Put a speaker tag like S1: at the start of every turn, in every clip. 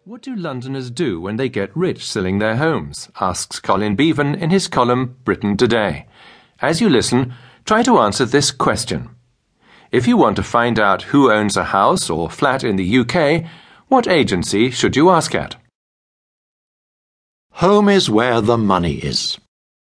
S1: What do Londoners do when they get rich selling their homes? Asks Colin Beavan in his column Britain Today. As you listen, try to answer this question. If you want to find out who owns a house or flat in the UK, what agency should you ask at?
S2: Home is where the money is.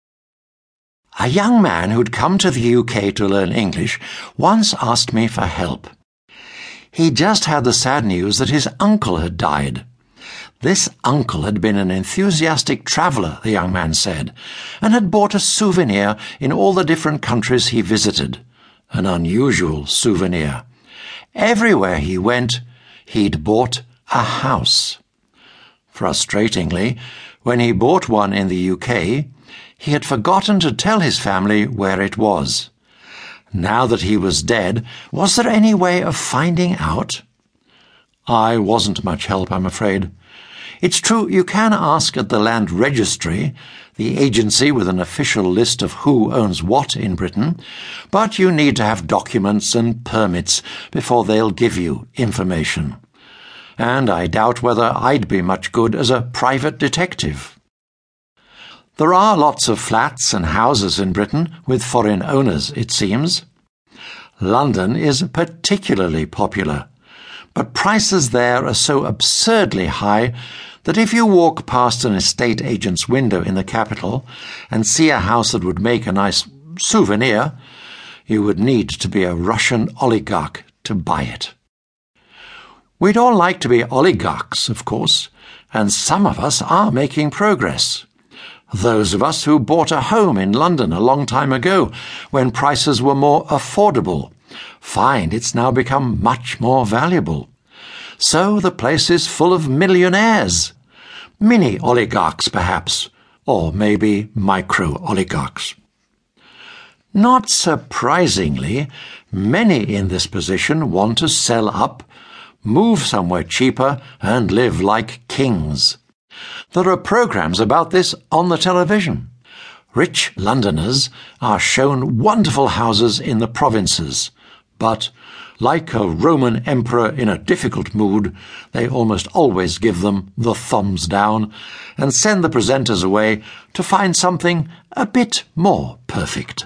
S2: A young man who'd come to the UK to learn English once asked me for help. He just had the sad news that his uncle had died. This uncle had been an enthusiastic traveller, the young man said, and had bought a souvenir in all the different countries he visited. An unusual souvenir. Everywhere he went, he'd bought a house. Frustratingly, when he bought one in the UK, he had forgotten to tell his family where it was. Now that he was dead, was there any way of finding out? I wasn't much help, I'm afraid. It's true you can ask at the Land Registry, the agency with an official list of who owns what in Britain, but you need to have documents and permits before they'll give you information. And I doubt whether I'd be much good as a private detective. There are lots of flats and houses in Britain with foreign owners, it seems. London is particularly popular, but prices there are so absurdly high that if you walk past an estate agent's window in the capital and see a house that would make a nice souvenir, you would need to be a Russian oligarch to buy it. We'd all like to be oligarchs, of course, and some of us are making progress. Those of us who bought a home in London a long time ago, when prices were more affordable, find it's now become much more valuable. So the place is full of millionaires. Mini oligarchs, perhaps, or maybe micro-oligarchs. Not surprisingly, many in this position want to sell up, move somewhere cheaper, and live like kings. There are programs about this on the television. Rich Londoners are shown wonderful houses in the provinces, but, like a Roman emperor in a difficult mood, they almost always give them the thumbs down and send the presenters away to find something a bit more perfect.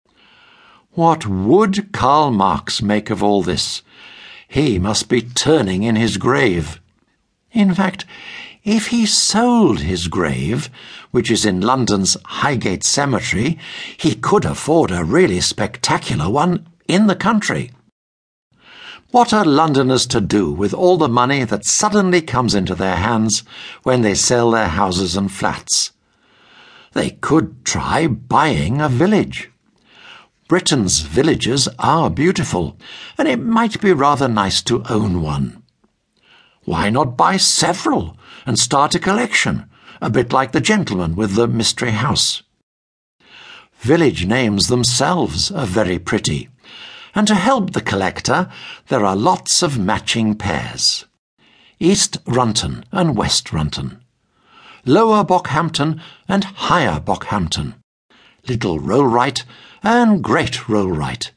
S2: What would Karl Marx make of all this? He must be turning in his grave. In fact, if he sold his grave, which is in London's Highgate Cemetery, he could afford a really spectacular one in the country. What are Londoners to do with all the money that suddenly comes into their hands when they sell their houses and flats? They could try buying a village. Britain's villages are beautiful, and it might be rather nice to own one. Why not buy several and start a collection, a bit like the gentleman with the mystery house? Village names themselves are very pretty, and to help the collector, there are lots of matching pairs. East Runton and West Runton, Lower Bockhampton and Higher Bockhampton, Little Rollright and Great Rollright.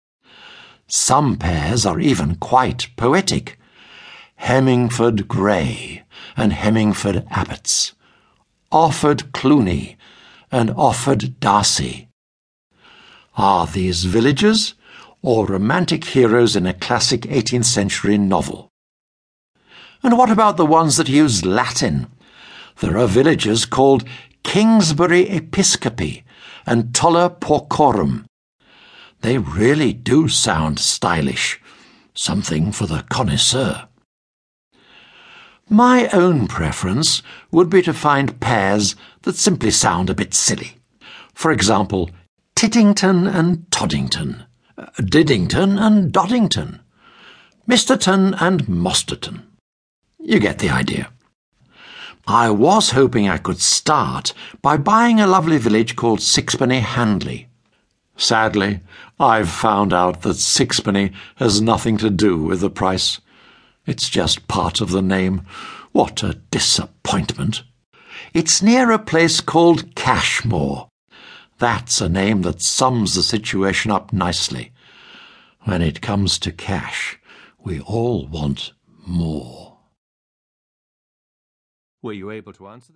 S2: Some pairs are even quite poetic. Hemmingford Grey and Hemmingford Abbots, Offord Cluny and Offord Darcy. Are these villages or romantic heroes in a classic 18th century novel? And what about the ones that use Latin? There are villages called Kingsbury Episcopi and Toller Porcorum. They really do sound stylish, something for the connoisseur. My own preference would be to find pairs that simply sound a bit silly. For example, Tiddington and Toddington, Diddington and Doddington, Misterton and Mosterton. You get the idea. I was hoping I could start by buying a lovely village called Sixpenny Handley. Sadly, I've found out that sixpenny has nothing to do with the price. It's just part of the name. What a disappointment. It's near a place called Cashmore. That's a name that sums the situation up nicely. When it comes to cash, we all want more.
S1: Were you able to answer them?